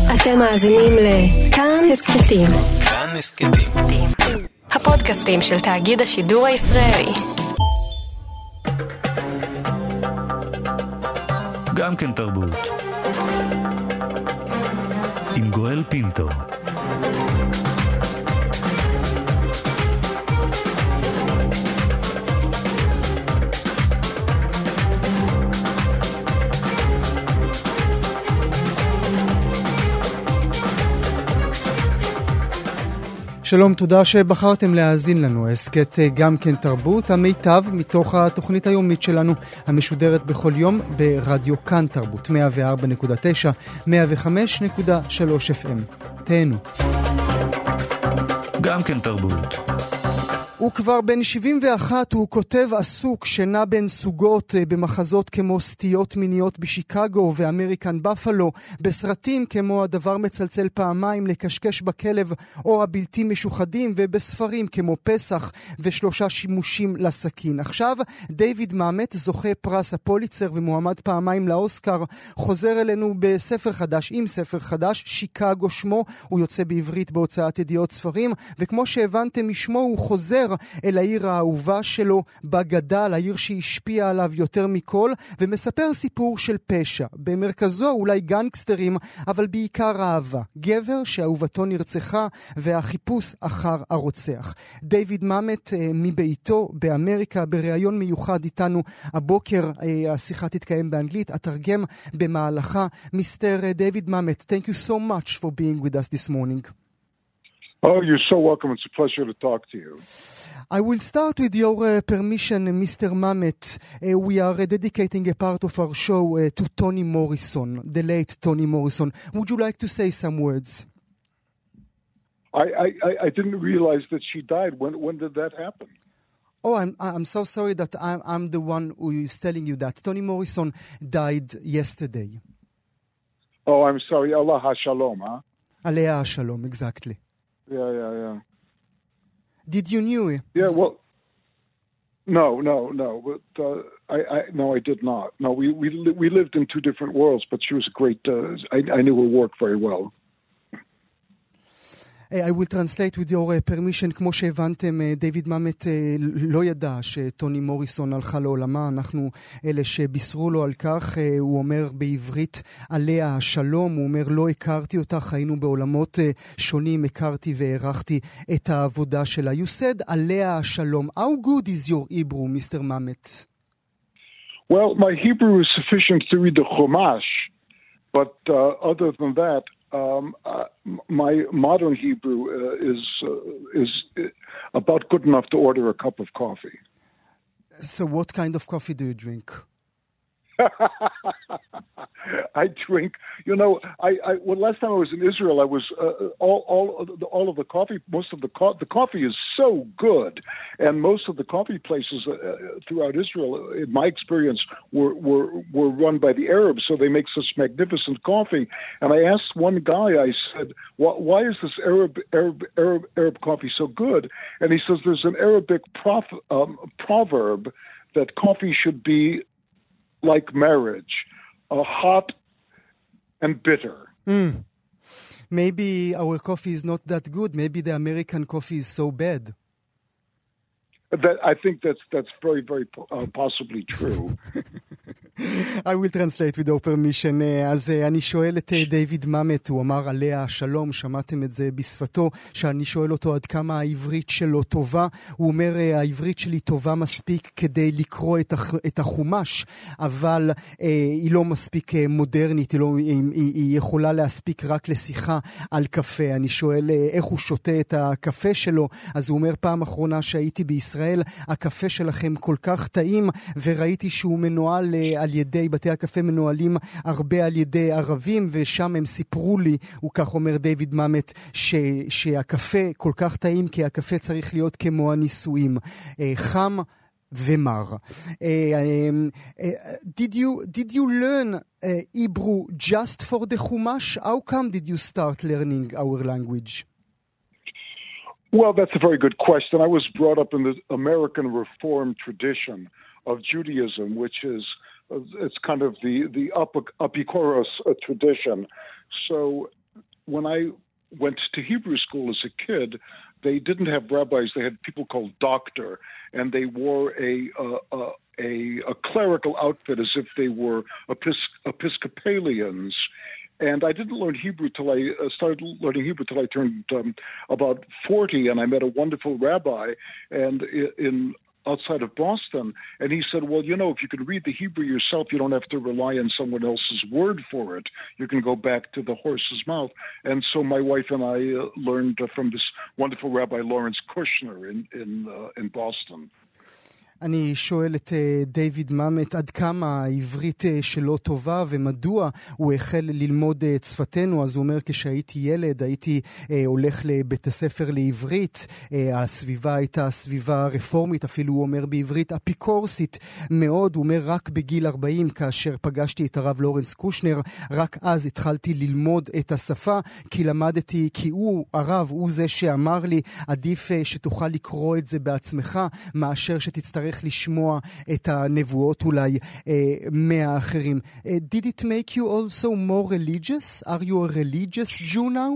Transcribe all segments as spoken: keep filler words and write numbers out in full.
אתם מאזינים לכאן הסכתים. כאן הסכתים. הפודקאסטים של תאגיד השידור הישראלי. גם כן תרבות. עם גואל פינטו. שלום, תודה שבחרתם להאזין לנו. הסכת גם כן תרבות, המיטב מתוך התוכנית היומית שלנו, המשודרת בכל יום ברדיו כאן תרבות, מאה וארבע נקודה תשע, מאה וחמש נקודה שלוש אף אם. תהנו. גם כן תרבות. הוא כבר בן שבעים ואחת, הוא כותב עסוק שנע בין סוגות במחזות כמו סטיות מיניות בשיקגו ואמריקן בפלו, בסרטים כמו הדבר מצלצל פעמיים, לקשקש בכלב או הבלתי משוחדים, ובספרים כמו פסח ושלושה שימושים לסכין. עכשיו דיוויד מאמט, זוכה פרס הפוליצר ומועמד פעמיים לאוסקר, חוזר אלינו בספר חדש, עם ספר חדש, שיקגו שמו, הוא יוצא בעברית בהוצאת ידיעות ספרים, וכמו שהבנתם משמו הוא חוזר אל העיר האהובה שלו בגדל, העיר שהשפיעה עליו יותר מכל, ומספר סיפור של פשע. במרכזו אולי גנגסטרים, אבל בעיקר אהבה. גבר שאהובתו נרצחה והחיפוש אחר הרוצח. דיוויד מאמט מביתו באמריקה, בריאיון מיוחד איתנו הבוקר, השיחה תתקיים באנגלית, אתרגם במהלכה. מיסטר דיוויד מאמט, thank you so much for being with us this morning. Oh, you're so welcome. It's a pleasure to talk to you. I will start with your uh, permission, Mister Mamet. Uh, we are uh, dedicating a part of our show uh, to Toni Morrison, the late Toni Morrison. Would you like to say some words? I, I, I didn't realize that she died. When when did that happen? Oh, I'm I'm so sorry that I'm I'm the one who is telling you that. Toni Morrison died yesterday. Oh, I'm sorry. Allah ha-shalom, huh? Alea ha-shalom, exactly. Yeah, yeah, yeah. Did you knew it? Yeah, well, no, no, no. But uh, I, I, no, I did not. No, we we we lived in two different worlds. But she was a great. Uh, I I knew her work very well. I will translate with your uh, permission. כמו שהבנתם, דיוויד מאמט לא ידע שטוני מוריסון הלכה לעולמה. אנחנו אלה שבישרו לו על כך. הוא אומר בעברית עליה השלום. הוא אומר לא הכרתי אותך, היינו בעולמות שונים, הכרתי והערכתי את העבודה שלה. You said עליה השלום. How good is your Hebrew, Mister Mamet? Well, my Hebrew is sufficient to read the Chumash, but uh, other than that, Um, uh, my modern Hebrew uh, is uh, is about good enough to order a cup of coffee. So what kind of coffee do you drink? I drink, you know, I, I well, last time I was in Israel, I was uh, all all of the, all of the coffee, most of the co- the coffee is so good, and most of the coffee places uh, throughout Israel, in my experience, were were were run by the Arabs, so they make such magnificent coffee. And I asked one guy, I said, why, why is this Arab Arab Arab Arab coffee so good? And he says there's an Arabic prof- um, proverb that coffee should be like marriage, uh, hot and bitter. Mm. Maybe our coffee is not that good. Maybe the American coffee is so bad. That I think that's that's very very uh, possibly true. I will translate with your permission. אז אני שואל את דיוויד מאמט, הוא אמר עליה השלום, שמעתם את זה בשפתו, שאני שואל אותו עד כמה העברית שלו טובה. הוא אומר העברית שלי טובה מספיק כדי לקרוא את, הח, את החומש, אבל אה, היא לא מספיק מודרנית, היא, לא, היא, היא יכולה להספיק רק לשיחה על קפה. אני שואל אה, איך הוא שותה את הקפה שלו, אז הוא אומר פעם אחרונה שהייתי בישראל, הקפה שלכם כל כך טעים, וראיתי שהוא מנוהל אה, על ידי, בתי הקפה מנוהלים הרבה על ידי ערבים, ושם הם סיפרו לי, הוא כך אומר דיוויד מאמט, ש, שהקפה כל כך טעים, כי הקפה צריך להיות כמו הנישואים, חם ומר. Did you, did you learn uh, Hebrew just for the Chumash? How come did you start learning our language? Well, that's a very good question. I was brought up in the American Reform tradition of Judaism, which is it's kind of the the Epikuros tradition. So when I went to Hebrew school as a kid, they didn't have rabbis. They had people called doctor, and they wore a uh, uh, a, a clerical outfit as if they were Epis- Episcopalians. And I didn't learn Hebrew till I uh, started learning Hebrew till I turned um, about forty, and I met a wonderful rabbi, and in outside of Boston, and he said, well, you know, if you can read the Hebrew yourself, you don't have to rely on someone else's word for it. You can go back to the horse's mouth. And so my wife and I uh, learned uh, from this wonderful Rabbi Lawrence Kushner in in, uh, in Boston. אני שואל את דיוויד ממט עד כמה העברית שלו טובה ומדוע הוא החל ללמוד את שפתנו. אז הוא אומר, כשהייתי ילד הייתי הולך לבית הספר לעברית, הסביבה הייתה סביבה רפורמית, אפילו הוא אומר בעברית אפיקורסית מאוד. הוא אומר, רק בגיל ארבעים כאשר פגשתי את הרב לורנס קושנר, רק אז התחלתי ללמוד את השפה, כי למדתי, כי הוא, הרב, הוא זה שאמר לי, עדיף שתוכל לקרוא את זה בעצמך מאשר שתצטרך לשמוע את הנבואות אולי מהאחרים. Did it make you also more religious? Are you a religious Jew now?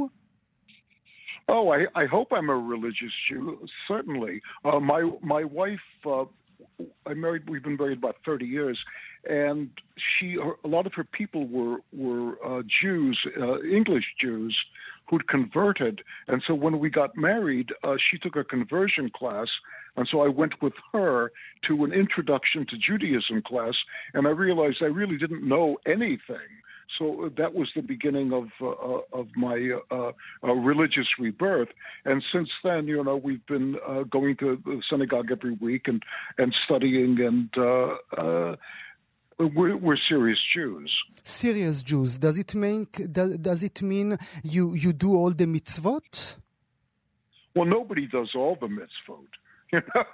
Oh, I, I hope I'm a religious Jew, certainly. Uh, my my wife, uh, I married, we've been married about thirty years, and she, a lot of her people were, were uh, Jews, uh, English Jews, who'd converted. And so when we got married, uh, she took a conversion class. And so I went with her to an introduction to Judaism class, and I realized I really didn't know anything. So that was the beginning of uh, of my uh, uh, religious rebirth. And since then, you know, we've been uh, going to the synagogue every week and, and studying, and uh, uh, we're, we're serious Jews. Serious Jews. Does it mean, does, does it mean you, you do all the mitzvot? Well, nobody does all the mitzvot. You know,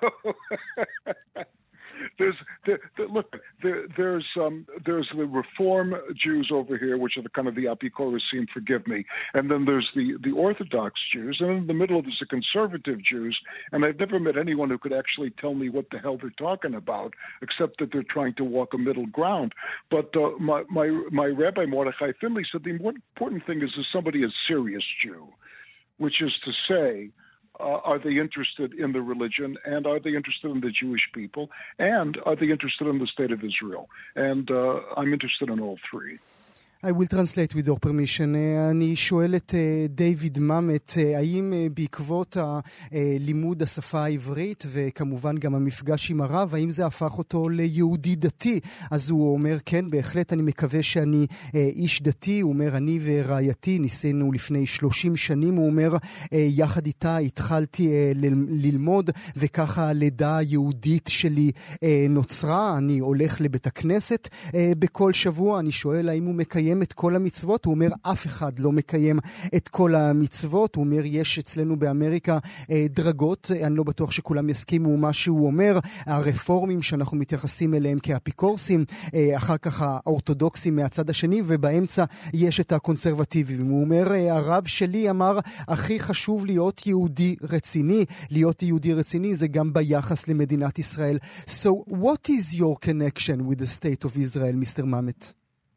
there's there, there, look there, there's um, there's the Reform Jews over here, which are the kind of the Apikorasim, forgive me, and then there's the the Orthodox Jews, and in the middle there's the conservative Jews. And I've never met anyone who could actually tell me what the hell they're talking about, except that they're trying to walk a middle ground. But uh, my my my Rabbi Mordechai Finley said the important thing is is somebody a serious Jew, which is to say, Uh, are they interested in the religion, and are they interested in the Jewish people, and are they interested in the state of Israel? And uh, I'm interested in all three. I will translate with your permission. אני שואל את דיוויד ממט, האם בעקבות לימוד השפה העברית וכמובן גם המפגש עם הרב, האם זה הפך אותו ליהודי דתי? אז הוא אומר, כן, בהחלט אני מקווה שאני איש דתי. הוא אומר, אני ורעייתי ניסינו לפני שלושים שנים, הוא אומר, יחד איתה התחלתי ללמוד, וככה הלידה היהודית שלי נוצרה. אני הולך לבית הכנסת בכל שבוע. אני שואל האם הוא מקיים את כל המצוות. הוא אומר, אף אחד לא מקיים את כל המצוות. הוא אומר, יש אצלנו באמריקה אה, דרגות, אני לא בטוח שכולם יסכימו מה שהוא אומר, הרפורמים שאנחנו מתייחסים אליהם כאפיקורסים, אה, אחר כך האורתודוקסים מהצד השני, ובאמצע יש את הקונסרבטיבים. הוא אומר, אה, הרב שלי אמר, הכי חשוב להיות יהודי רציני. להיות יהודי רציני זה גם ביחס למדינת ישראל. So what is your connection with the state of Israel, Mister Mamet?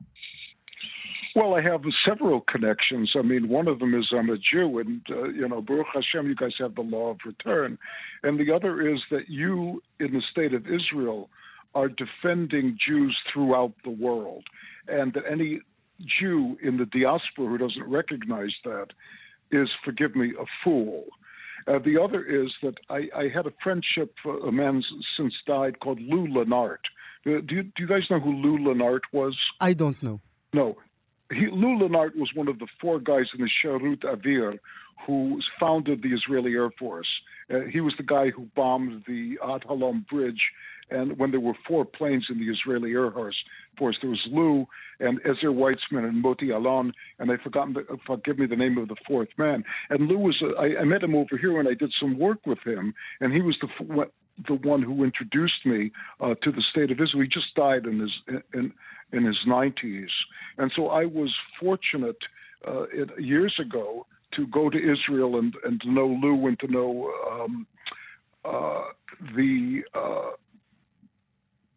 Well, I have several connections. I mean, one of them is I'm a Jew, and, uh, you know, Baruch Hashem, you guys have the law of return. And the other is that you, in the state of Israel, are defending Jews throughout the world. And that any Jew in the diaspora who doesn't recognize that is, forgive me, a fool. Uh, the other is that I, I had a friendship, uh, a man since died, called Lou Lenart. Uh, do, you, do you guys know who Lou Lenart was? I don't know. No. He, Lou Lenart was one of the four guys in the Sharut Avir who founded the Israeli Air Force. Uh, he was the guy who bombed the Ad Halom Bridge, and when there were four planes in the Israeli Air Force, there was Lou and Ezer Weitzman and Moti Alon, and I've forgotten, the, forgive me, the name of the fourth man. And Lou was, a, I, I met him over here and I did some work with him, and he was the the one who introduced me uh, to the state of Israel. He just died in his in, in his nineties. And so I was fortunate uh, it, years ago to go to Israel and, and to know Lou and to know um, uh, the uh,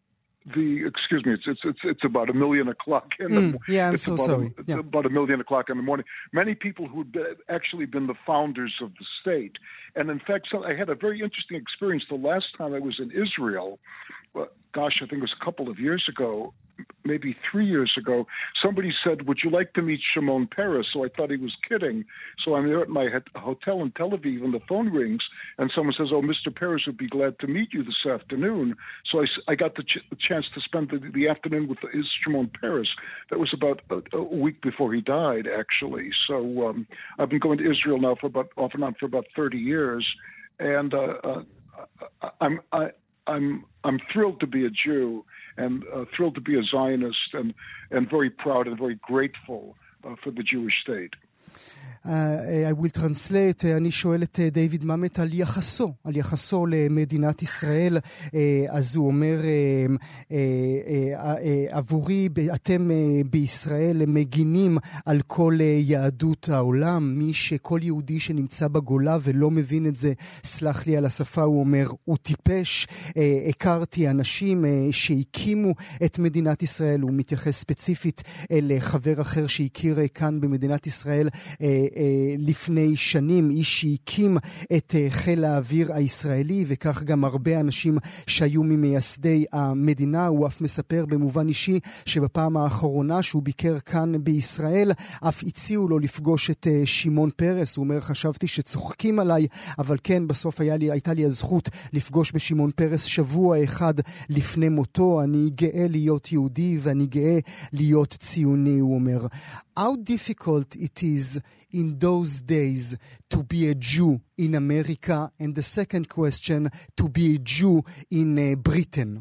the excuse me, it's it's it's, it's about a million o'clock in the Mm, yeah, I'm it's so about sorry. A, it's Yeah. about a million o'clock in the morning. Many people who'd be, actually been the founders of the state, and in fact, so I had a very interesting experience the last time I was in Israel. Well, gosh, I think it was a couple of years ago. Maybe three years ago, somebody said, "Would you like to meet Shimon Peres?" So I thought he was kidding. So I'm there at my hotel in Tel Aviv, and the phone rings, and someone says, "Oh, Mister Peres would be glad to meet you this afternoon." So I, I got the, ch- the chance to spend the, the afternoon with his Shimon Peres. That was about a, a week before he died, actually. So um, I've been going to Israel now for about off and on for about thirty years, and uh, uh, I'm I, I'm I'm thrilled to be a Jew. And uh, thrilled to be a Zionist, and, and very proud and very grateful uh, for the Jewish state. Uh, I will translate. uh, אני שואל את uh, דיוויד ממט על יחסו, על יחסו למדינת ישראל. uh, אז הוא אומר, uh, uh, uh, uh, עבורי, אתם uh, בישראל מגינים על כל uh, יהדות העולם. מי שכל יהודי שנמצא בגולה ולא מבין את זה, סלח לי על השפה, הוא אומר, הוא טיפש. uh, הכרתי אנשים uh, שהקימו את מדינת ישראל. הוא מתייחס ספציפית לחבר אחר שהכיר uh, כאן במדינת ישראל uh, לפני שנים, איש שהקים את חיל האוויר הישראלי, וכך גם הרבה אנשים שהיו ממייסדי המדינה. הוא אף מספר במובן אישי שבפעם האחרונה שהוא ביקר כאן בישראל, אף הציעו לו לפגוש את שמעון פרס. הוא אומר, חשבתי שצוחקים עליי, אבל כן, בסוף היה לי, הייתה לי הזכות לפגוש בשמעון פרס שבוע אחד לפני מותו. אני גאה להיות יהודי ואני גאה להיות ציוני, הוא אומר. How difficult it is in those days to be a Jew in America, and the second question, to be a Jew in uh, Britain?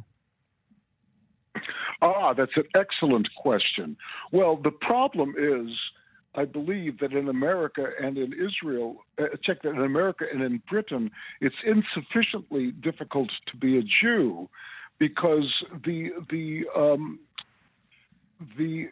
Ah, that's an excellent question. Well, the problem is, I believe that in America and in Israel, uh, check that in America and in Britain, it's insufficiently difficult to be a Jew because the the um, the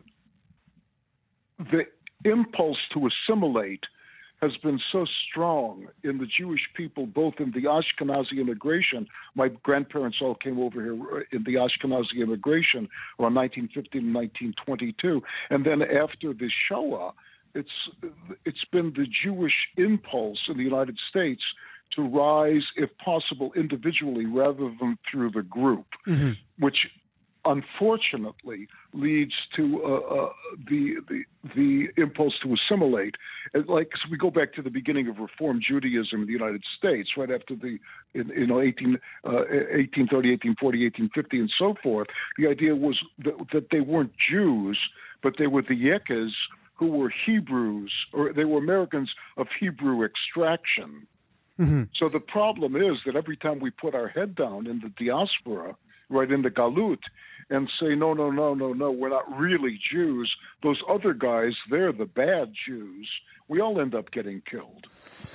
the impulse to assimilate has been so strong in the Jewish people, both in the Ashkenazi immigration. My grandparents all came over here in the Ashkenazi immigration around nineteen fifteen and nineteen twenty-two. And then after the Shoah, it's it's been the Jewish impulse in the United States to rise, if possible, individually rather than through the group, mm-hmm. which unfortunately leads to uh, uh, the, the the impulse to assimilate. Like, so we go back to the beginning of Reform Judaism in the United States, right after the in, you know eighteen, uh, eighteen thirty, eighteen forty, eighteen fifty, and so forth. The idea was that, that they weren't Jews, but they were the Yekas who were Hebrews, or they were Americans of Hebrew extraction. Mm-hmm. So the problem is that every time we put our head down in the diaspora, right in the Galut, and say, no, no, no, no, no, we're not really Jews. Those other guys, they're the bad Jews. We all end up getting killed.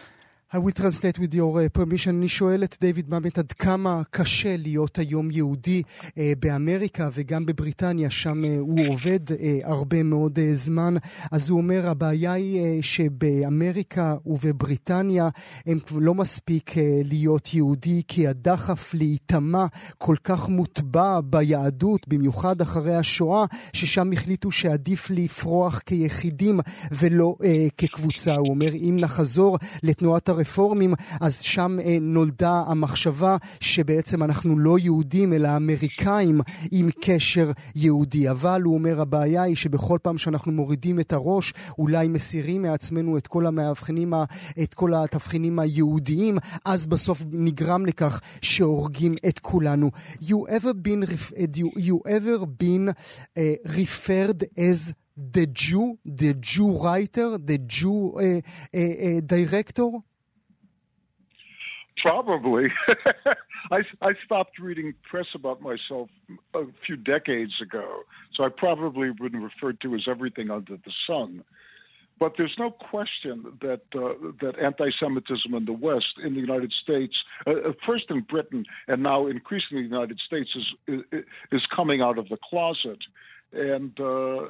I will translate with your uh, permission. אני שואל את דיוויד ממט עד כמה קשה להיות היום יהודי uh, באמריקה וגם בבריטניה, שם uh, הוא עובד uh, הרבה מאוד uh, זמן. אז הוא אומר, הבעיה היא uh, שבאמריקה ובבריטניה הם לא מספיק uh, להיות יהודי, כי הדחף להיטמע כל כך מוטבע ביהדות, במיוחד אחרי השואה, ששם החליטו שעדיף לפרוח כיחידים ולא uh, כקבוצה. הוא אומר, אם נחזור לתנועת הרפורמים, אז שם אה, נולדה המחשבה שבעצם אנחנו לא יהודים אלא אמריקאים עם קשר יהודי. אבל הוא אומר, הבעיה היא שבכל פעם שאנחנו מורידים את הראש, אולי מסירים מעצמנו את כל המאבחנים, את כל התבחינים היהודיים, אז בסוף נגרם לכך שהורגים את כולנו. You ever been, you, you ever been uh, referred as the Jew, the Jew writer, the Jew uh, uh, uh, director? Probably. I, I stopped reading press about myself a few decades ago, so I probably been referred to as everything under the sun. But there's no question that uh, that anti-Semitism in the West, in the United States, uh, first in Britain and now increasingly in the United States, is is, is coming out of the closet, and uh,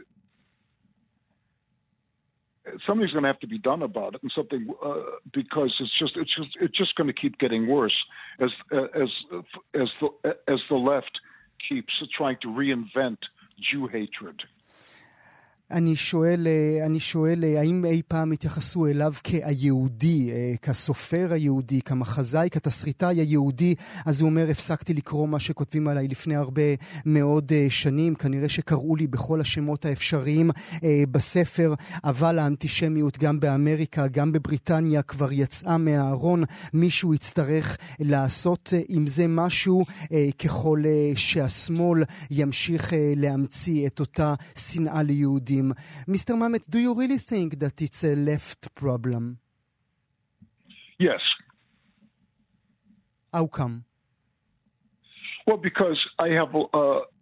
something's going to have to be done about it, and something uh, because it's just it's just it's just going to keep getting worse as as as the as the left keeps trying to reinvent Jew hatred. אני שואל, אני שואל, האם אי פעם התייחסו אליו כיהודי, כסופר היהודי, כמחזאי, כתסריטאי היהודי? אז הוא אומר, הפסקתי לקרוא מה שכותבים עליי לפני הרבה מאוד שנים, כנראה שקראו לי בכל השמות האפשריים בספר, אבל האנטישמיות גם באמריקה, גם בבריטניה כבר יצאה מהארון, מישהו יצטרך לעשות עם זה משהו, ככל שהשמאל ימשיך להמציא את אותה שנאה ליהודים. Mister Mamet, do you really think that it's a left problem? Yes. How come? Well, because I have, uh,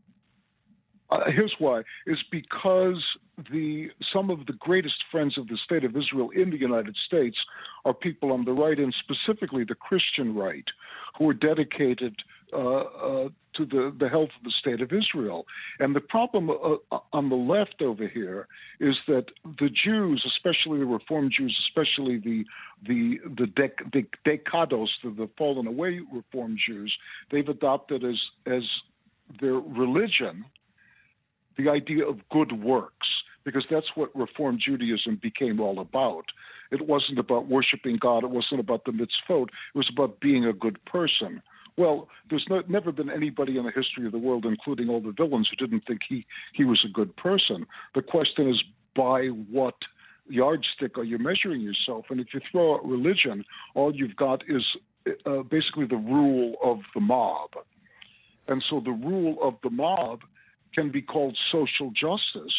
uh, here's why, is because the some of the greatest friends of the State of Israel in the United States are people on the right, and specifically the Christian right, who are dedicated uh, uh, to the, the health of the State of Israel. And the problem uh, on the left over here is that the Jews, especially the Reform Jews, especially the the the, dec- the Dekados, the, the fallen away Reform Jews, they've adopted as as their religion the idea of good works, because that's what Reform Judaism became all about. It wasn't about worshiping God. It wasn't about the mitzvot. It was about being a good person. Well, there's no, never been anybody in the history of the world, including all the villains, who didn't think he, he was a good person. The question is, by what yardstick are you measuring yourself? And if you throw out religion, all you've got is uh, basically the rule of the mob. And so the rule of the mob can be called social justice,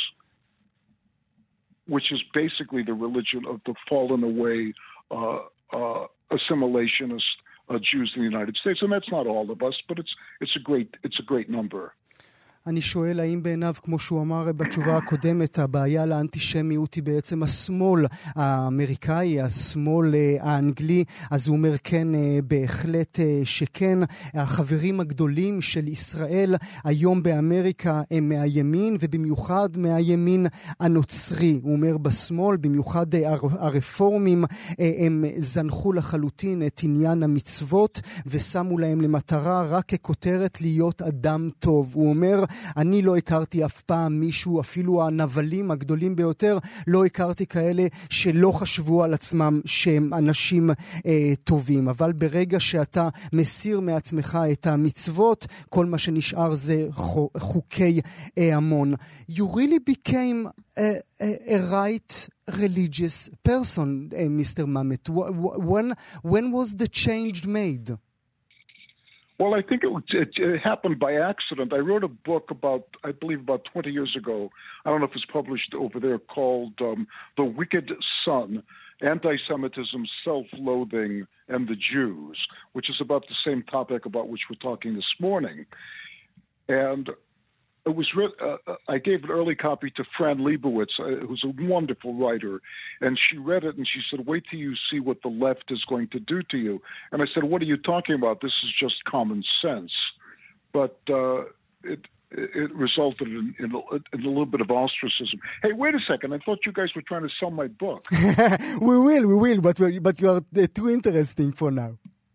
which is basically the religion of the fallen away uh, uh, assimilationist uh, Jews in the United States. And that's not all of us, but it's it's a great it's a great number. אני שואל האם בעיניו, כמו שהוא אמר בתשובה הקודמת, הבעיה לאנטישמיות היא בעצם השמאל האמריקאי, השמאל האנגלי. אז הוא אומר כן, בהחלט שכן. החברים הגדולים של ישראל היום באמריקה הם מהימין, ובמיוחד מהימין הנוצרי. הוא אומר בשמאל, במיוחד הרפורמים, הם זנחו לחלוטין את עניין המצוות, ושמו להם למטרה רק ככותרת להיות אדם טוב. הוא אומר, אני לא הכרתי אף פעם מישהו, אפילו הנבלים הגדולים ביותר, לא הכרתי כאלה שלא חשבו על עצמם שהם אנשים אה, טובים. אבל ברגע שאתה מסיר מעצמך את המצוות, כל מה שנשאר זה חוקי אה, המון. You really became a, a, a right religious person, uh, Mister Mamet. When, when was the change made? Well, I think it, it, it happened by accident. I wrote a book about, I believe, about twenty years ago. I don't know if it's published over there, called um, The Wicked Son, Anti-Semitism, Self-Loathing, and the Jews, which is about the same topic about which we're talking this morning. And it was re- uh, I gave an early copy to Fran Lebowitz, uh, who's a wonderful writer, and she read it and she said, wait till you see what the left is going to do to you. And I said, what are you talking about? This is just common sense. But uh, it it resulted in, in, a, in a little bit of ostracism. Hey, wait a second. I thought you guys were trying to sell my book. we will, we will, but, we, but you are uh, too interesting for now.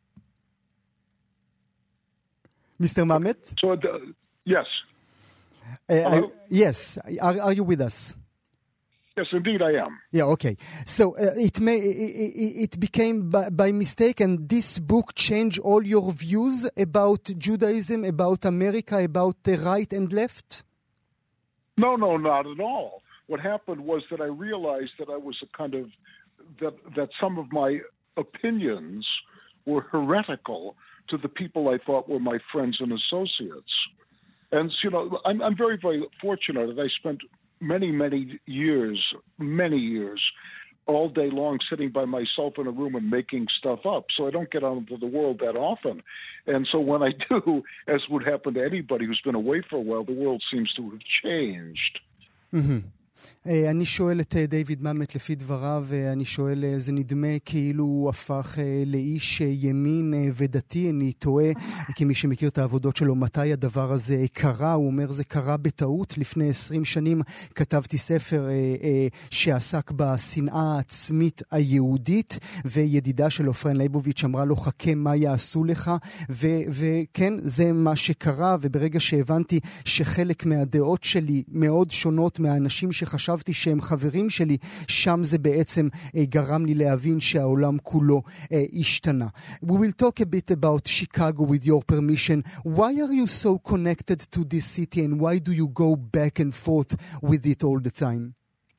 Mister Mamet? So, uh, yes. Uh, I, yes, are, are you with us? Yes, indeed I am. Yeah, okay. So uh, it may it, it became by, by mistake, and this book changed all your views about Judaism, about America, about the right and left? No, no, not at all. What happened was that I realized that I was a kind of that that some of my opinions were heretical to the people I thought were my friends and associates. And, you know, I'm, I'm very, very fortunate that I spent many, many years, many years, all day long sitting by myself in a room and making stuff up. So I don't get out into the world that often. And so when I do, as would happen to anybody who's been away for a while, the world seems to have changed. Mm-hmm. אני שואל את דיוויד מאמט לפי דבריו, אני שואל, זה נדמה כאילו הוא הפך לאיש ימין ודתי, אני טועה, כמי שמכיר את העבודות שלו, מתי הדבר הזה קרה? הוא אומר, זה קרה בטעות. לפני עשרים שנים כתבתי ספר שעסק בשנאה העצמית היהודית, וידידה של עופרן ליבוביץ' אמרה לו, חכה מה יעשו לך, וכן, זה מה שקרה, וברגע שהבנתי שחלק מהדעות שלי מאוד שונות מהאנשים שחשבתי שהם חברים שלי, שם זה בעצם גרם לי להבין שהעולם כולו השתנה. We will talk a bit about Chicago with your permission. Why are you so connected to this city and why do you go back and forth with it all the time?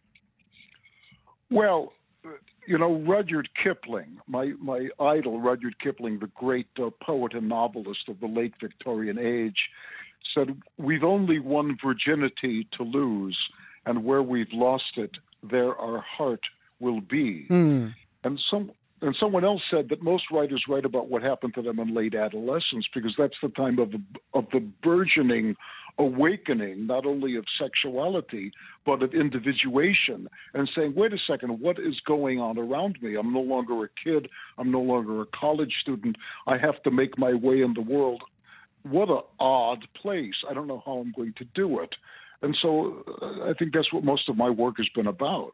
Well, you know, Rudyard Kipling, my, my idol, Rudyard Kipling, the great uh, poet and novelist of the late Victorian age, said, we've only one virginity to lose, and where we've lost it, there our heart will be. Mm. And some and someone else said that most writers write about what happened to them in late adolescence because that's the time of, of the burgeoning awakening, not only of sexuality, but of individuation, and saying, wait a second, what is going on around me? I'm no longer a kid. I'm no longer a college student. I have to make my way in the world. What an odd place. I don't know how I'm going to do it. And so uh, I think that's what most of my work has been about.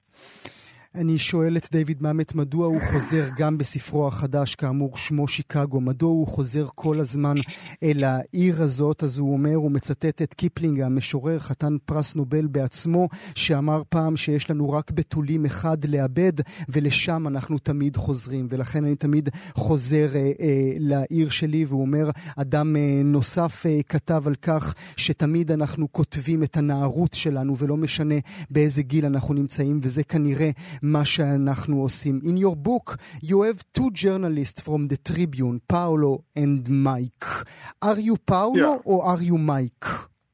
אני שואל את דיוויד מאמט, מדוע הוא חוזר גם בספרו החדש, כאמור שמו שיקגו, מדוע הוא חוזר כל הזמן אל העיר הזאת? אז הוא אומר, הוא מצטט את קיפלינג, המשורר, חתן פרס נובל בעצמו, שאמר פעם שיש לנו רק בתולים אחד לאבד, ולשם אנחנו תמיד חוזרים, ולכן אני תמיד חוזר אה, אה, לעיר שלי, והוא אומר, אדם אה, נוסף אה, כתב על כך, שתמיד אנחנו כותבים את הנערות שלנו, ולא משנה באיזה גיל אנחנו נמצאים, וזה כנראה מה שאנחנו עושים. In your book, you have two journalists from the Tribune, Paolo and Mike. Are you Paolo yeah. or are you Mike?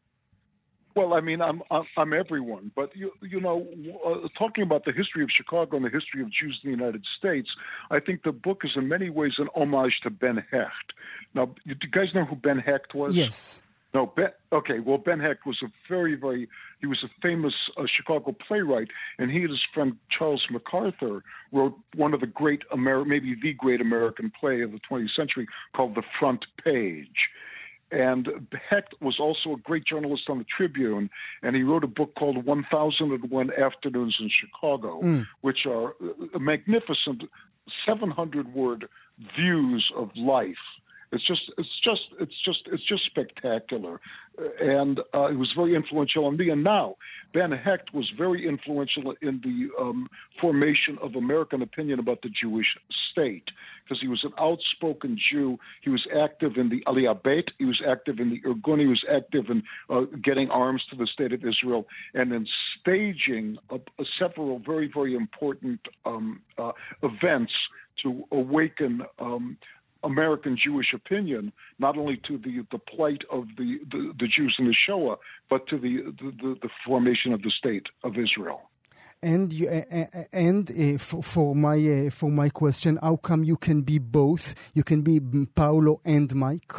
Well, I mean, I'm I'm, I'm everyone, but you you know, uh, talking about the history of Chicago and the history of Jews in the United States, I think the book is in many ways an homage to Ben Hecht. Now, do you guys know who Ben Hecht was? Yes. No, Ben, okay, well, Ben Hecht was a very, very, he was a famous uh, Chicago playwright, and he and his friend Charles MacArthur wrote one of the great, Ameri- maybe the great American play of the twentieth century called The Front Page. And Hecht was also a great journalist on the Tribune, and he wrote a book called one thousand one Afternoons in Chicago, mm. which are magnificent seven hundred word views of life. It's just, it's just, it's just, it's just spectacular, and uh, it was very influential on me. And now, Ben Hecht was very influential in the um, formation of American opinion about the Jewish state, because he was an outspoken Jew. He was active in the Aliyah Beit. He was active in the Irgun. He was active in uh, getting arms to the state of Israel, and in staging a, a several very, very important um, uh, events to awaken. Um, American Jewish opinion, not only to the, the plight of the, the, the Jews in the Shoah, but to the, the, the formation of the state of Israel. And you, uh, and uh, for, for my uh, for my question, how come you can be both? You can be Paolo and Mike?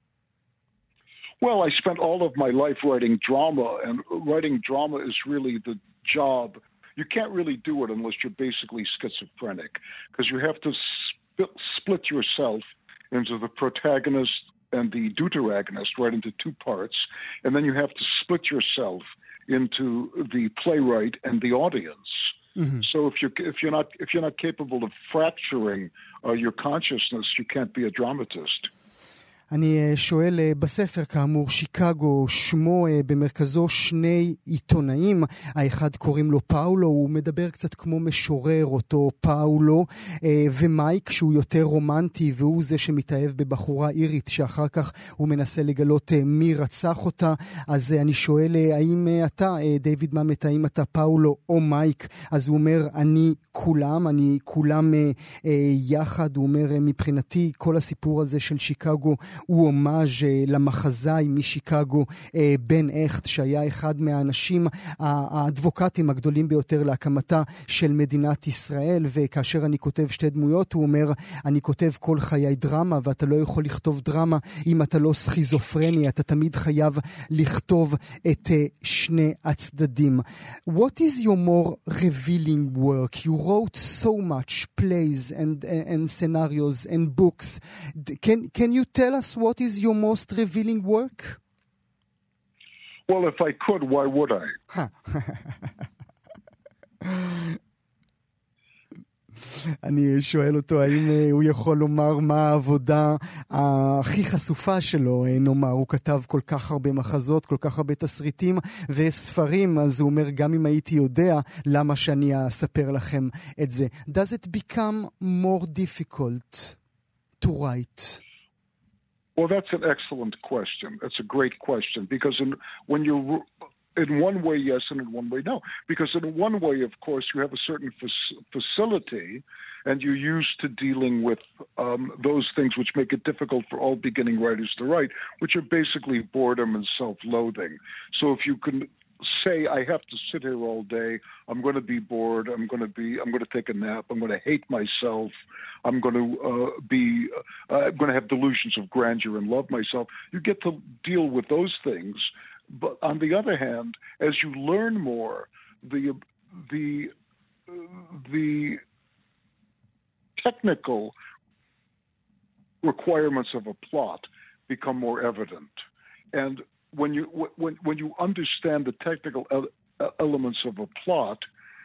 Well, I spent all of my life writing drama, and writing drama is really the job. You can't really do it unless you're basically schizophrenic, because you have to sp- split yourself into the protagonist and the deuteragonist, right into two parts, and then you have to split yourself into the playwright and the audience. Mm-hmm. So if you're if you're not if you're not capable of fracturing uh, your consciousness, you can't be a dramatist. אני שואל בספר, כאמור, שיקגו, שמו במרכזו שני עיתונאים, האחד קוראים לו פאולו, הוא מדבר קצת כמו משורר אותו פאולו, ומייק שהוא יותר רומנטי, והוא זה שמתאהב בבחורה אירית, שאחר כך הוא מנסה לגלות מי רצח אותה. אז אני שואל, האם אתה, דיוויד מאמט, האם אתה פאולו או מייק? אז הוא אומר, אני כולם, אני כולם יחד. הוא אומר, מבחינתי, כל הסיפור הזה של שיקגו הוא הומאז' למחזאי משיקגו בן אכט, שהיה אחד מהאנשים האדבוקטים הגדולים ביותר להקמתה של מדינת ישראל. וכאשר אני כותב שתי דמויות, הוא אומר, אני כותב כל חיי דרמה, ואתה לא יכול לכתוב דרמה אם אתה לא סכיזופרני, אתה תמיד חייב לכתוב את שני הצדדים. What is your more revealing work? You wrote so much plays and and scenarios and books. Can can you tell us what is your most revealing work? Well, if I could, why would I? אני שואל אותו האם הוא יכול לומר מה העבודה הכי חשופה שלו, נאמר, הוא כתב כל כך הרבה מחזות, כל כך הרבה תסריטים וספרים, אז הוא אומר, גם אם הייתי יודע, למה שאני אספר לכם את זה? Does it become more difficult to write? Well, that's an excellent question. That's a great question, because in, when you're in one way, yes, and in one way, no. Because in one way, of course, you have a certain fa- facility, and you're used to dealing with um, those things which make it difficult for all beginning writers to write, which are basically boredom and self-loathing. So if you can say, I have to sit here all day, I'm going to be bored, I'm going to be, I'm going to take a nap, I'm going to hate myself, I'm going to uh, be, uh, I'm going to have delusions of grandeur and love myself. You get to deal with those things. But on the other hand, as you learn more, the the the technical requirements of a plot become more evident. And when you when when you understand the technical elements of a plot,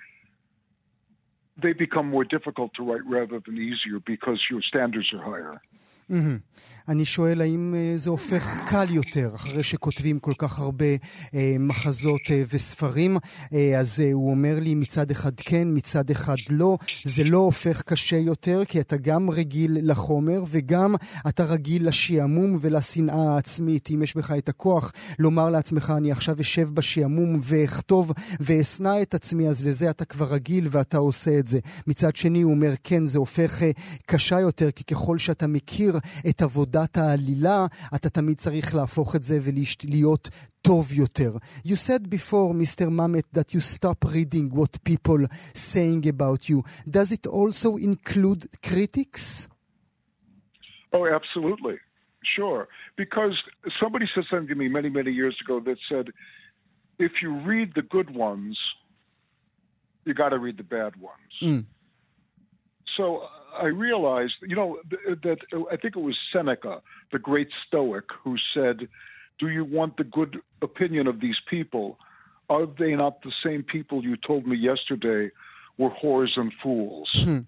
they become more difficult to write rather than easier because your standards are higher. Mm-hmm. אני שואל האם זה הופך קל יותר אחרי שכותבים כל כך הרבה אה, מחזות אה, וספרים. אה, אז אה, הוא אומר לי מצד אחד כן, מצד אחד לא. זה לא הופך קשה יותר כי אתה גם רגיל לחומר וגם אתה רגיל לשעמום ולשנאה העצמית. אם יש בך את הכוח לומר לעצמך אני עכשיו אשב בשעמום ואכתוב ואסנע את עצמי, אז לזה אתה כבר רגיל ואתה עושה את זה. מצד שני הוא אומר כן, זה הופך אה, קשה יותר כי ככל שאתה מכיר את עבודת העלילה, אתה תמיד צריך להפוך את זה ולהיות טוב יותר. You said before, Mister Mamet, that you stop reading what people saying about you. Does it also include critics? Oh, absolutely. Sure. Because somebody said something to me many, many years ago that said, if you read the good ones, you got to read the bad ones. Mm. So I realized, you know, that I think it was Seneca, the great Stoic, who said, do you want the good opinion of these people? Are they not the same people you told me yesterday were whores and fools? Hmm.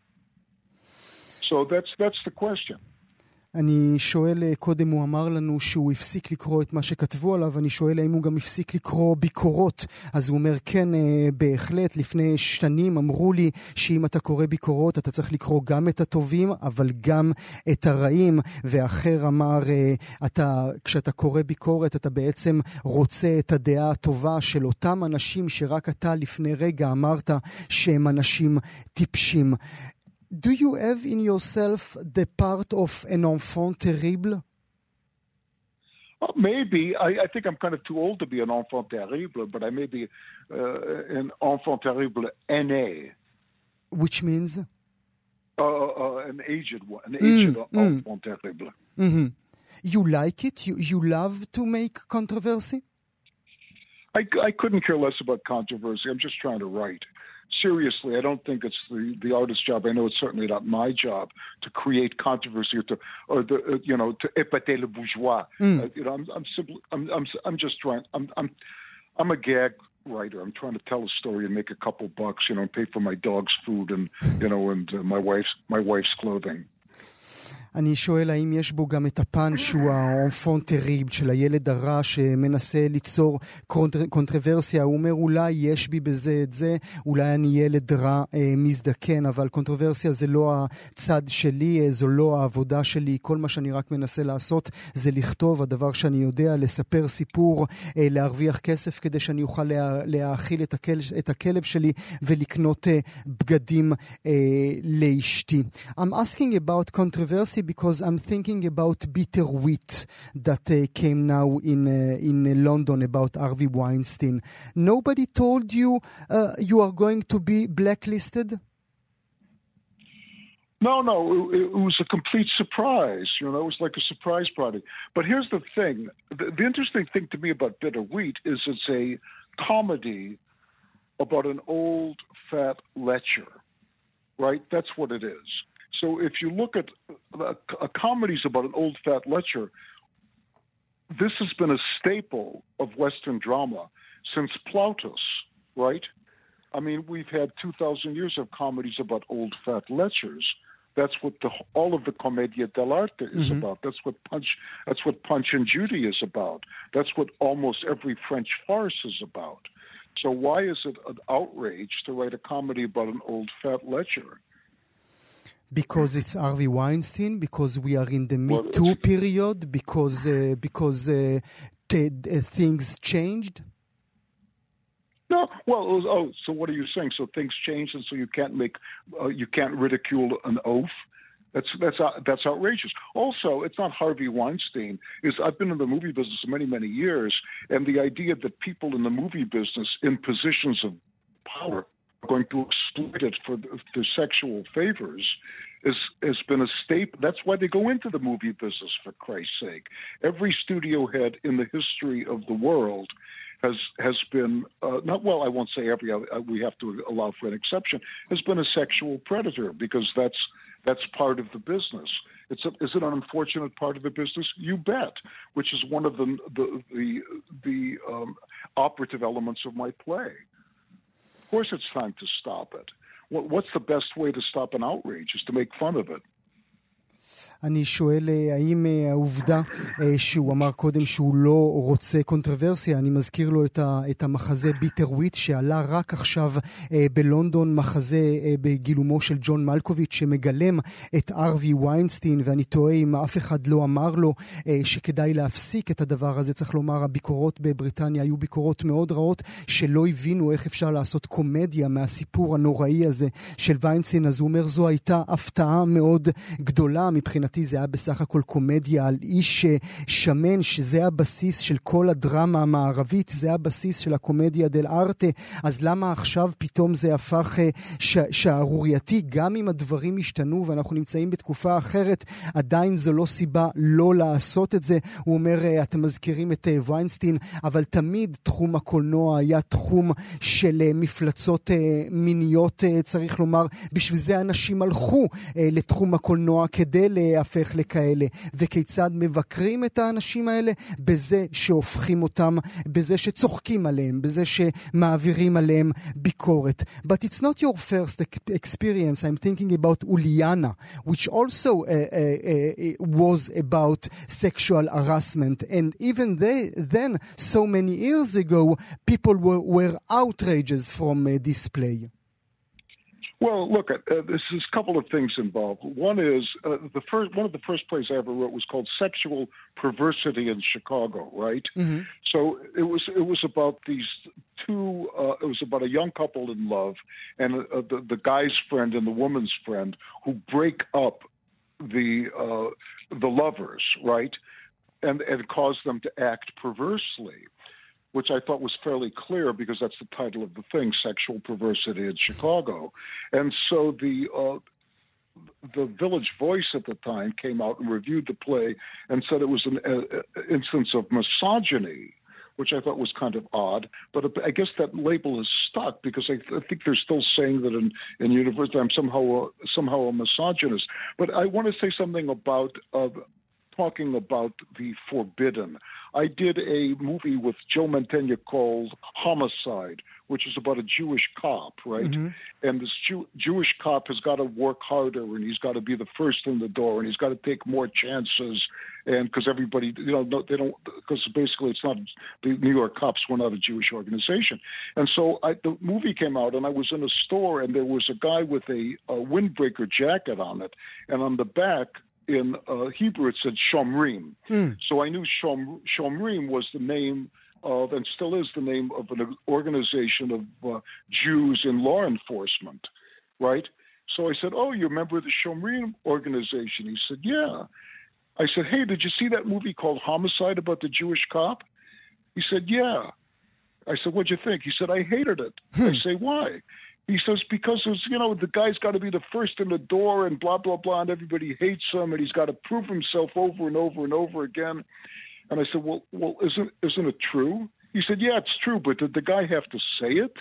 So that's that's the question. אני שואל, קודם הוא אמר לנו שהוא הפסיק לקרוא את מה שכתבו עליו, אני שואל האם הוא גם הפסיק לקרוא ביקורות. אז הוא אומר, כן, בהחלט, לפני שנים אמרו לי שאם אתה קורא ביקורות, אתה צריך לקרוא גם את הטובים, אבל גם את הרעים. ואחר אמר, אתה, כשאתה קורא ביקורת, אתה בעצם רוצה את הדעה הטובה של אותם אנשים שרק אתה לפני רגע אמרת שהם אנשים טיפשים. Do you have in yourself the part of an enfant terrible? Well, maybe. I, I think I'm kind of too old to be an enfant terrible, but I may be uh, an enfant terrible aîné. Which means? Uh, uh, an aged one, an aged mm, enfant mm. terrible. Mm-hmm. You like it? You, you love to make controversy? I, I couldn't care less about controversy. I'm just trying to write. Seriously, I don't think it's the, the artist's job. I know it's certainly not my job to create controversy or to, or the, uh, you know, to épater le bourgeois. Mm. Uh, you know, I'm, I'm simply, I'm, I'm, I'm just trying. I'm, I'm, I'm a gag writer. I'm trying to tell a story and make a couple bucks. You know, and pay for my dog's food and, you know, and uh, my wife's, my wife's clothing. אני שואל האם יש בו גם את הפן שהוא האנפון טריבל של הילד הרע שמנסה ליצור קונטרוורסיה. הוא אומר אולי יש בי בזה את זה, אולי אני ילד רע אה, מזדקן, אבל קונטרוורסיה זה לא הצד שלי, אה, זו לא העבודה שלי. כל מה שאני רק מנסה לעשות זה לכתוב, הדבר שאני יודע, לספר סיפור, אה, להרוויח כסף כדי שאני אוכל לה, להאכיל את, הכל, את הכלב שלי ולקנות אה, בגדים אה, לאשתי. I'm asking about controversy because I'm thinking about Bitter Wheat that uh, came now in uh, in uh, London about Harvey Weinstein. Nobody told you uh, you are going to be blacklisted? No, no, it, it was a complete surprise. You know, it was like a surprise party. But here's the thing. The, the interesting thing to me about Bitter Wheat is it's a comedy about an old, fat lecher, right? That's what it is. So if you look at a, a comedies about an old, fat lecher, this has been a staple of Western drama since Plautus, right? I mean, we've had two thousand years of comedies about old, fat lechers. That's what the, all of the Commedia dell'arte is mm-hmm. about. That's what Punch. That's what Punch and Judy is about. That's what almost every French farce is about. So why is it an outrage to write a comedy about an old fat lecher? Because it's Harvey Weinstein. Because we are in the Me well, Too period. Because uh, because uh, t- uh, things changed. No, well, it was, oh, so what are you saying? So things changed, and so you can't make, uh, you can't ridicule an oath. That's that's uh, that's outrageous. Also, it's not Harvey Weinstein. Is I've been in the movie business many many years, and the idea that people in the movie business in positions of power are going to exploit it for their sexual favors is has been a staple. That's why they go into the movie business, for Christ's sake. Every studio head in the history of the world has has been uh, not well. I won't say every. Uh, we have to allow for an exception. Has been a sexual predator because that's that's part of the business. It's a, is it an unfortunate part of the business? You bet. Which is one of the the the, the um, operative elements of my play. Of course, it's time to stop it. What, what's the best way to stop an outrage? Is to make fun of it. אני שואל, האם העובדה שהוא אמר קודם שהוא לא רוצה קונטרוורסיה, אני מזכיר לו את, ה, את המחזה ביטר וויט שעלה רק עכשיו בלונדון, מחזה בגילומו של ג'ון מלקוביץ' שמגלם את ארווי ויינסטיין, ואני תוהה אם אף אחד לא אמר לו שכדאי להפסיק את הדבר הזה. צריך לומר, הביקורות בבריטניה היו ביקורות מאוד רעות, שלא הבינו איך אפשר לעשות קומדיה מהסיפור הנוראי הזה של ויינסטיין. אז הוא אומר, זו הייתה הפתעה מאוד גדולה מבחינתי. זה היה בסך הכל קומדיה על איש שמן, שזה הבסיס של כל הדרמה המערבית, זה הבסיס של הקומדיה דל ארטה. אז למה עכשיו פתאום זה הפך ש- שערורייתי? גם אם הדברים השתנו ואנחנו נמצאים בתקופה אחרת, עדיין זו לא סיבה לא לעשות את זה. הוא אומר, אתם מזכירים את ויינסטיין, אבל תמיד תחום הקולנוע היה תחום של מפלצות מיניות, צריך לומר. בשביל זה אנשים הלכו לתחום הקולנוע כדי להפך לכאלה. וכיצד מבקרים את האנשים האלה? בזה שהופכים אותם, בזה שצוחקים עליהם, בזה שמעבירים עליהם ביקורת. But it's not your first experience. I'm thinking about Uliana, which also uh, uh, uh, was about sexual harassment. And even they, then, so many years ago, people were, were outrages from uh, this play. Well, look, uh, there's a couple of things involved. One is uh, the first one of the first plays I ever wrote was called Sexual Perversity in Chicago, right? Mm-hmm. So it was it was about these two. Uh, it was about a young couple in love, and uh, the the guy's friend and the woman's friend who break up the uh, the lovers, right, and and cause them to act perversely, which I thought was fairly clear because that's the title of the thing, Sexual Perversity in Chicago. And so the uh, the Village Voice at the time came out and reviewed the play and said it was an uh, instance of misogyny, which I thought was kind of odd. But I guess that label is stuck because I, th- I think they're still saying that in, in university I'm somehow a, somehow a misogynist. But I want to say something about uh, talking about the forbidden. I did a movie with Joe Mantegna called Homicide, which is about a Jewish cop, right? Mm-hmm. And this Jew- Jewish cop has got to work harder, and he's got to be the first in the door, and he's got to take more chances. And because everybody, you know, they don't, because basically it's not, the New York cops were not a Jewish organization. And so I, the movie came out, and I was in a store, and there was a guy with a, a windbreaker jacket on it, and on the back, in uh, Hebrew, it said Shomrim. Mm. So I knew Shom, Shomrim was the name of, and still is the name of an organization of uh, Jews in law enforcement, right? So I said, oh, you're a member of the Shomrim organization? He said, yeah. I said, hey, did you see that movie called Homicide about the Jewish cop? He said, yeah. I said, what'd you think? He said, I hated it. I say, why? He says, because, it was, you know, the guy's got to be the first in the door and blah, blah, blah, and everybody hates him, and he's got to prove himself over and over and over again. And I said, well, well, isn't, isn't it true? He said, yeah, it's true, but did the guy have to say it?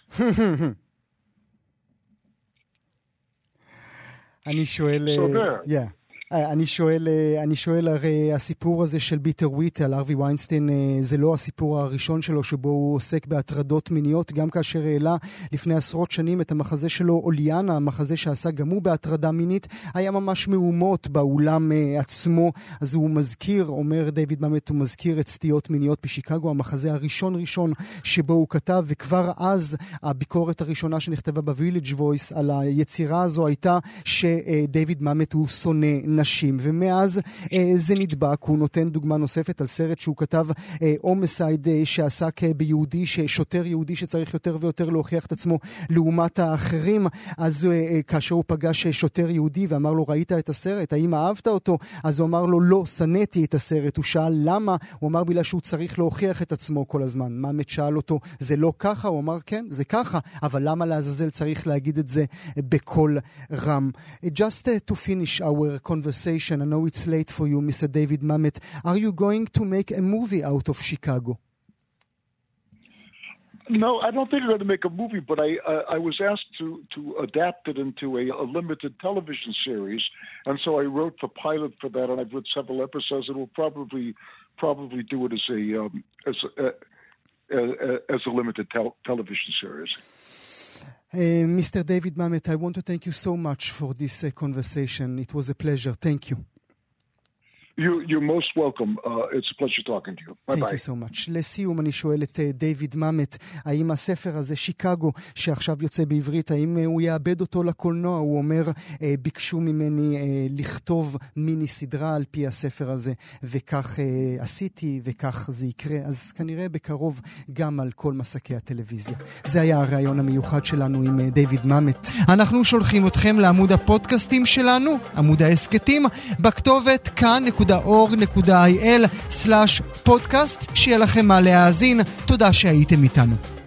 אני שואל... So there. Yeah. אני שואל, אני שואל, הרי הסיפור הזה של ביטר וויט על ארווי ויינסטיין זה לא הסיפור הראשון שלו שבו הוא עוסק בהטרדות מיניות, גם כאשר העלה לפני עשרות שנים את המחזה שלו אוליאנה, המחזה שעשה גם הוא בהטרדה מינית, היה ממש מהומות באולם עצמו. אז הוא מזכיר, אומר דיוויד מאמט, הוא מזכיר את סטיות מיניות בשיקגו, המחזה הראשון ראשון שבו הוא כתב, וכבר אז הביקורת הראשונה שנכתבה בוויליג' וויס על היצירה הזו הייתה שדיוויד מאמט הוא שונא נשים, ומאז אה, זה נדבק. הוא נותן דוגמה נוספת על סרט שהוא כתב, הומסייד, אה, אה, שעסק אה, ביהודי, שוטר יהודי שצריך יותר ויותר להוכיח את עצמו לעומת האחרים. אז אה, אה, כאשר הוא פגש שוטר יהודי ואמר לו, ראית את הסרט? האם אהבת אותו? אז הוא אמר לו, לא, שנאתי את הסרט. הוא שאל למה? הוא אמר בגלל שהוא צריך להוכיח את עצמו כל הזמן. מאמט שאל אותו, זה לא ככה? הוא אמר, כן, זה ככה, אבל למה לעזאזל צריך להגיד את זה בכל רם? Just uh, to finish our conversation, I know it's late for you, Mister David Mamet. Are you going to make a movie out of Chicago? No, I don't think I'm going to make a movie, but I uh, I was asked to to adapt it into a, a limited television series, and so I wrote the pilot for that, and I've written several episodes, and we'll probably probably do it as a um, as a, uh, as a limited tel- television series. Uh, Mister David Mamet, I want to thank you so much for this uh, conversation. It was a pleasure. Thank you. You, you're most welcome. Uh, it's a pleasure talking to you. Bye-bye. Thank you so much. לסיום אני שואל את דיוויד מאמט, האם הספר הזה, שיקגו, שעכשיו יוצא בעברית, האם הוא יאבד אותו לקולנוע? הוא אומר, ביקשו ממני לכתוב מיני סדרה על פי הספר הזה, וכך עשיתי, וכך זה יקרה. אז כנראה בקרוב גם על כל מסקי הטלוויזיה. זה היה הרעיון המיוחד שלנו עם דיוויד מאמט. אנחנו שולחים אתכם לעמוד הפודקאסטים שלנו, עמוד העסקתים, בכתובת כאן נקודה אורג נקודה איי אל סלש פודקאסט. שיהיה לכם מה להאזין. תודה שהייתם איתנו.